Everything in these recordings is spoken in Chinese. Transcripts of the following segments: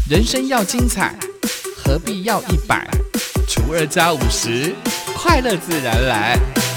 人生要精彩，何必要100？除2加50，快乐自然来。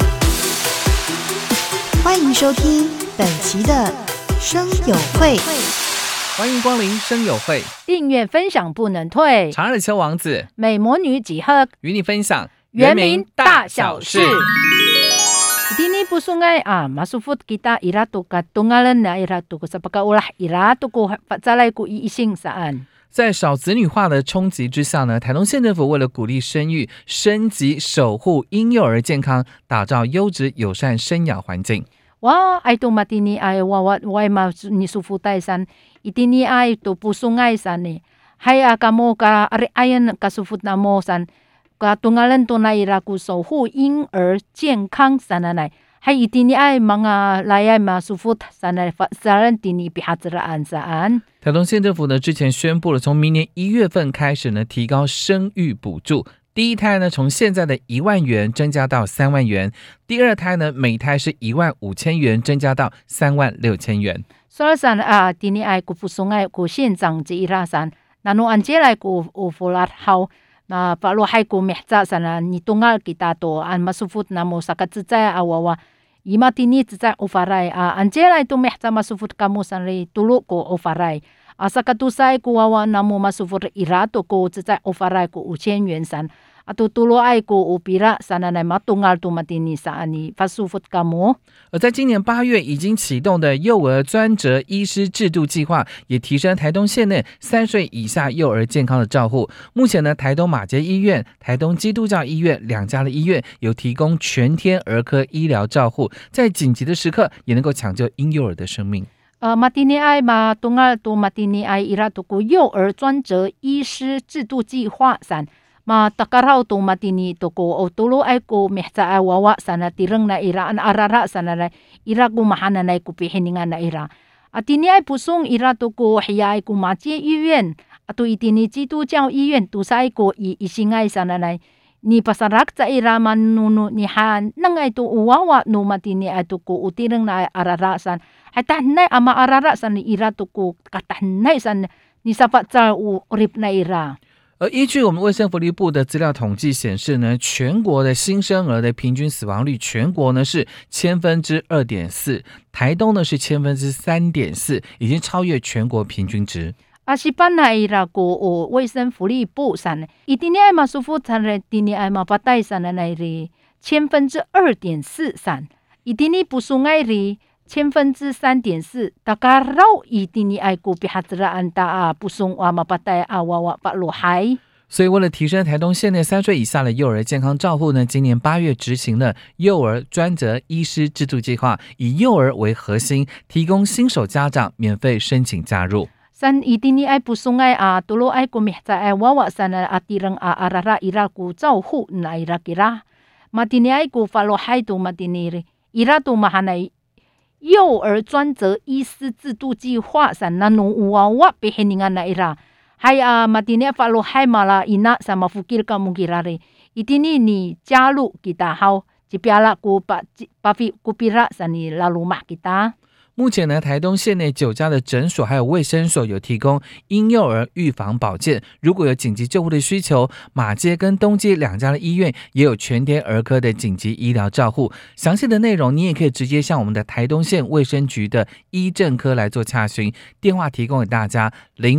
欢迎收听本期的声友会， 欢迎光临声友会， 订阅分享不能退。 长耳秋王子美魔女几何与你分享原名大小事。Ini pusungai masufut kita ira tu katungalan na ira tu sapakaulah ira tu ku patsalai ku iising saan。 在少子女化的冲击之下呢，台东县政府为了鼓励生育，升级守护婴幼儿健康，打造优质友善生养环境。 哇，ai tu matini ai wai ma ni sufutai san itini ai tu pusungai san ni hai akamo ka ari ayan kasufut namo san。Katungalan to na ira ku 守护婴儿健康 sananay hay itini ay mga layay masufut sanay saran tini pihatsaraan saan。 台东县政府呢之前宣布了，从明年1月份开始呢，提高生育补助。第一胎呢，从现在的1万元增加到3万元；第二胎呢，每胎是15000元，增加到36000元。 所以san tini ay ku pusungay ku 县长之ira san nanu anjelay ku ufulat how。Na paluhay ko mehta sana nitungal kita to an masufut na mo sa katsitsaya awawa ima tini tsitsaya ufaray anjela ito mehta masufut kamo sanri tulo ko ufaray sa katusay ko wawa na mo masufut irato ko tsitsaya ufaray ko 5000元san ato tulo ay ko upira sana na matungal to matini sa ani fasufut kamo。 而在今年8月已经启动的幼儿专责医师制度计划，也提升台东县内3岁以下幼儿健康的照护。目前呢，台东马偕医院、台东基督教医院2家的医院有提供全天儿科医疗照护，在紧急的时刻也能够抢救婴幼儿的生命。 matini ay matungal to matini ay irato ko 幼儿专责医师制度计划san。Matakaraw to matini to ko o tulo ay ko mehsa ay wawa sana tirang na ira an arara sana na ira ko mahana na ko pihiningan na ira. At ini ay pusong ira to ko hiya ay ko Magie医院 ato itini 基督教医院 to sa ay ko isingay sana na ni pasarak sa ira manunu ni han nang ay to uwawa no matini ay to ko utirang na arara san. Ay tahnay ama arara san ni ira to ko katahnay san ni sapat sa urip na ira。 而依据我们卫生福利部的资料统计显示呢，全国的新生儿的平均死亡率，全国呢是2.4%，台东呢是3.4%，已经超越全国平均值。 Asipan na ira ko o 卫生福利部san itini ay masufut san tini ay mapatay san na iri 2.4% san itini pusungay ri 3.4%takaraw itini ay ko pihatraan ta pusong mapatay awawa paluhay。 所以为了提升台东县内3岁以下的幼儿健康照护呢，今年8月执行了幼儿专责医师制度计划，以幼儿为核心，提供新手家长免费申请加入。 San itini ay pusungay tulo ay kumihta ay wawa sana atirang arara ira ko 照护na ira kira matini ay ko paluhay to matini ira to mahanay幼儿专责医师制度计划 san nanu uwawa pihiningan na ira hay matini follow hay mala ina sa mafukir ka mugirare itini ni 加入 kita how jipiala ko papi kupira sa ni lalumah kita。 目前呢，台东县内9家的诊所还有卫生所有提供婴幼儿预防保健，如果有紧急救护的需求，马偕跟东街2家的医院也有全天儿科的紧急医疗照护。详细的内容你也可以直接向我们的台东县卫生局的医政科来做洽询，电话提供给大家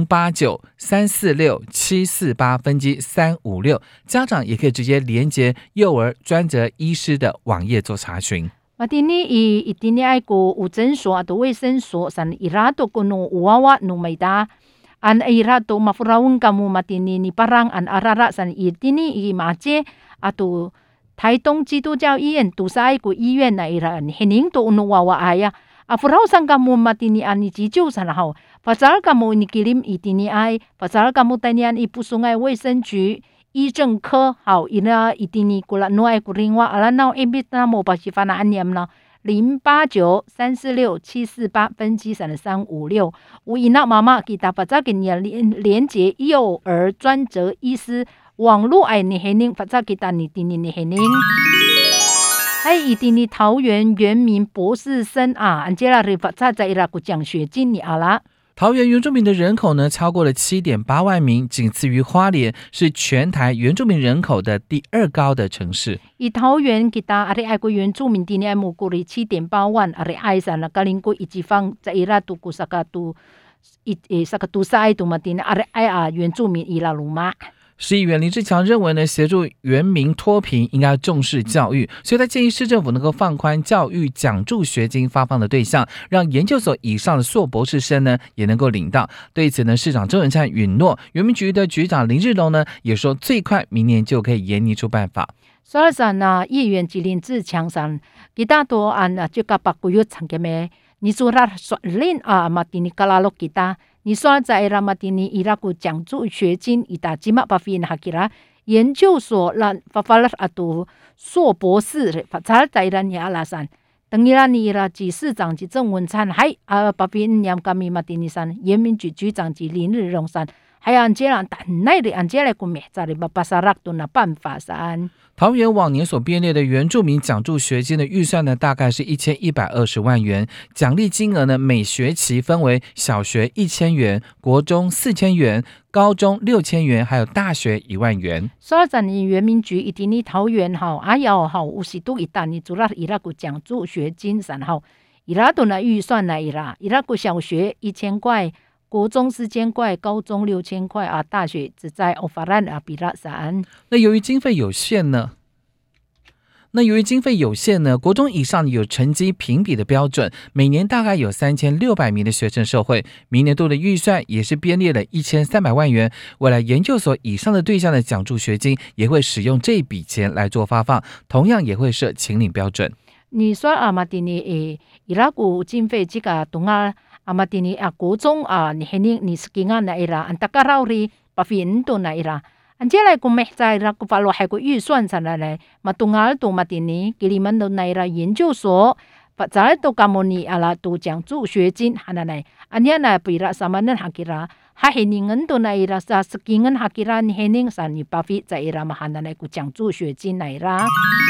089-346-748分机356，家长也可以直接连结幼儿专责医师的网页做查询。 Matini itini ay ko 诊所 ato 卫生所 san irato ko no uwawa no mayda an irato mafurawon kamo matini ni parang an arara san itini Magie ato 台东基督教医院 to sa ay ko 医院 na ira hining to no wawa aya afuraw sang kamo matini an ni jijo san how pasal kamo nikilim itini ay pasal kamo tanian ipusungay 卫生局医政科好ina itini kula no ay kuringwa ala now imbit na mo pasifana anyam na 089-346-748分机356无ina mama kita pasakin ya 连结幼儿专责医师网络ay ni hening pasal kita ni tini ni hening。还以第你桃园原民博士生Angela 在伊拉古奖学金你阿拉。 桃园原住民的人口呢超过了7.8万名，仅次于花莲，是全台原住民人口的第2高的城市。 以桃园kita ari ai ko原住民di ni mo kuri 7.8万 ari ai sana kaling ko ichifang sa ira tu ku sakatu sakatu sai tu matin ari ai 原住民伊拉鲁马。 市议员林志强认为呢，协助原民脱贫应该重视教育，所以他建议市政府能够放宽教育奖助学金发放的对象，让研究所以上的硕博士生呢也能够领到。对此呢，市长周永灿允诺，原民局的局长林日龙呢也说，最快明年就可以研拟出办法。 所以说呢，议员林志强上kita to an juga pakuyut sangkeme ni surat soalin matini kalalok kita。你说在拉马蒂尼伊拉古奖助学金伊达吉马巴菲那吉拉研究所让发发了阿杜硕博士发查在拉尼阿拉山，等于拉尼伊拉及市长及郑文灿，还巴菲尼亚米马蒂尼山原民局局长及林日荣山，还有安杰兰但奈的安杰来古咩在里巴巴萨拉多那办法山。 桃园往年所编列的原住民奖助学金的预算呢，大概是1120万元，奖励金额呢每学期分为小学1000元、国中4000元、高中6000元，还有大学1万元。 所以在你原民局一定你桃园好，还有好50度一旦你主要伊拉个奖助学金然后伊拉都那预算来伊拉个小学1000块。国中4000块，高中6000块啊，大学只在欧法兰比拉山。 那由于经费有限呢，国中以上有成绩评比的标准，每年大概有3600名的学生受惠。明年度的预算也是编列了1300万元，未来研究所以上的对象的奖助学金也会使用这笔钱来做发放，同样也会设请领标准。 你说马蒂尼伊拉古经费这个东马蒂尼国中你肯定你是给俺那伊拉，安达卡劳里巴菲恩多那伊拉，安接来古没在伊拉古法罗还古预算上来马东阿多马蒂尼给你们的那伊拉研究所，把在都卡莫尼阿拉都奖助学金哈那来，安尼那比拉什么人哈给拉，哈肯定恩多那伊拉是是给俺哈给拉，你肯定是你巴菲在伊拉嘛哈那来古奖助学金那伊拉。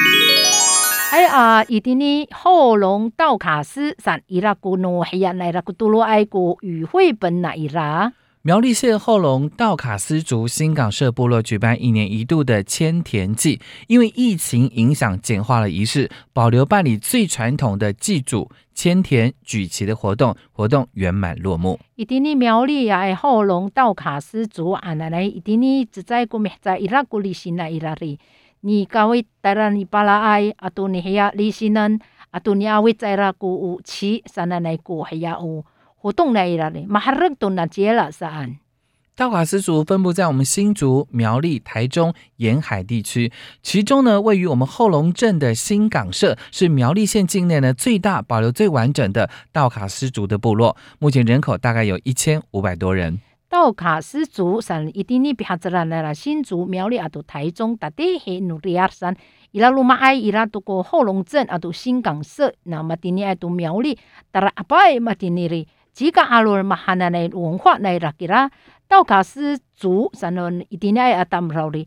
伊丁尼后龙道卡斯山伊拉古诺黑亚奈拉古杜罗埃古与会本那伊拉。 苗栗县后龙道卡斯族新港社部落举办1年1度的迁田祭，因为疫情影响简化了仪式，保留办理最传统的祭祖、迁田、举旗的活动圆满落幕。 伊丁尼苗栗后龙道卡斯族奶奶伊丁尼只在古咩在伊拉古里新那伊拉里。你kawit tara ni palaay ato ni haya lisinan ato ni awit sa ira ku uchi sana na ku haya活动na ira le maharag to na jela saan。 道卡斯族分布在我们新竹、苗栗、台中沿海地区，其中呢，位于我们后龙镇的新港社是苗栗县境内呢最大、保留最完整的道卡斯族的部落，目前人口大概有1500多人。 道卡斯族山一定你比哈子啦啦新竹苗栗都台中大地黑努力亚山伊拉鲁马埃伊拉都过后龙镇都新港社那么今年都苗栗达拉阿拜嘛今年哩几个阿罗嘛哈那内文化内啦给啦道卡斯族山呢一定爱阿达姆劳哩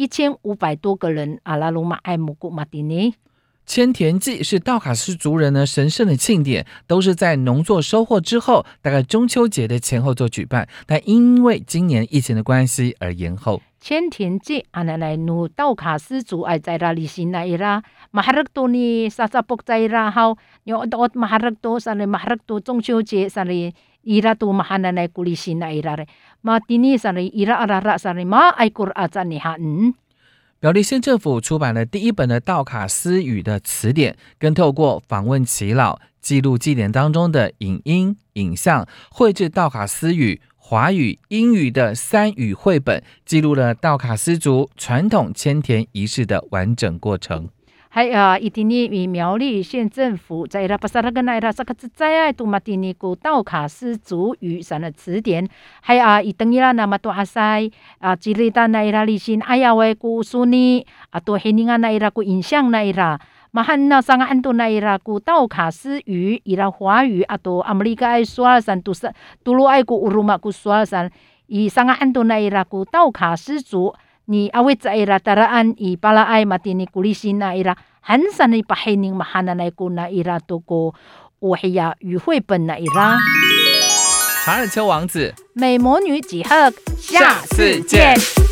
1500多个人阿拉鲁马埃木古嘛今年。 迁田祭是道卡斯族人呢神圣的庆典，都是在农作收获之后，大概中秋节的前后做举办，但因为今年疫情的关系而延后。 迁田祭奶奶努道卡斯族爱在拉里新那伊拉马哈克多尼萨萨卜在拉好，有到马哈克多上来马哈克多中秋节上来伊拉都马哈奶奶古里新那伊拉嘞，马蒂尼上来伊拉阿拉拉上来马爱古阿赞尼哈苗栗县政府出版了第1本的道卡斯语的词典，更透过访问耆老、记录祭典当中的影音、影像，绘制道卡斯语、华语、英语的3语绘本，记录了道卡斯族传统迁田仪式的完整过程。 还一定你苗栗县政府在拉巴萨拉跟那拉萨克兹在爱杜马蒂尼古道卡斯族语上的词典，还一等伊拉那么多阿塞吉利达那伊拉里新哎呀喂古苏尼多黑尼安那伊拉古影像那伊拉。马汉那上安多那伊拉古道卡斯语伊拉华语多阿美利加爱说山杜鲁爱古乌鲁马古说山伊上安多那伊拉古道卡斯族。你阿维在伊拉达拉安伊巴拉埃马蒂尼古里西那伊拉很少你把黑宁马哈那来古那伊拉都过我黑呀与绘本那伊拉。 查尔丘王子， 美魔女几何， 下次见。